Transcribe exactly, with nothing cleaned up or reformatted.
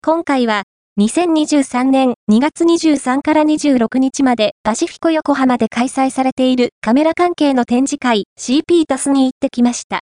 今回は、にせんにじゅうさんねんにがつにじゅうさんからにじゅうろくにちまでパシフィコ横浜で開催されているカメラ関係の展示会 シーピー タスに行ってきました。